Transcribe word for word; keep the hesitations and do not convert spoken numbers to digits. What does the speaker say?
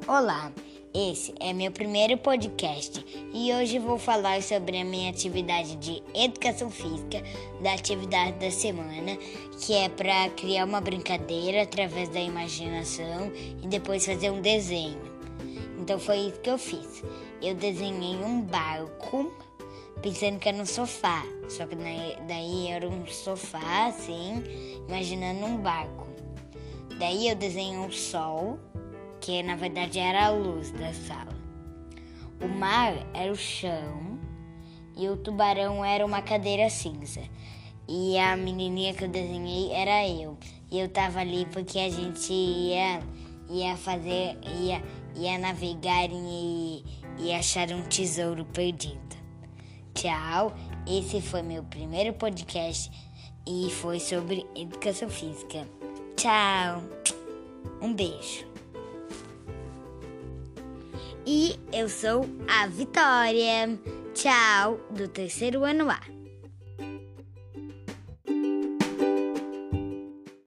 Olá, esse é meu primeiro podcast e hoje vou falar sobre a minha atividade de educação física, da atividade da semana, que é para criar uma brincadeira através da imaginação e depois fazer um desenho. Então foi isso que eu fiz. Eu desenhei um barco pensando que era um sofá, só que daí era um sofá assim, imaginando um barco. Daí eu desenhei um sol, que na verdade era a luz da sala. O mar era o chão e o tubarão era uma cadeira cinza. E a menininha que eu desenhei era eu. E eu tava ali porque a gente ia, ia fazer, ia, ia navegar e, e achar um tesouro perdido. Tchau, esse foi meu primeiro podcast e foi sobre educação física. Tchau, um beijo. E eu sou a Vitória. Tchau, do terceiro ano A.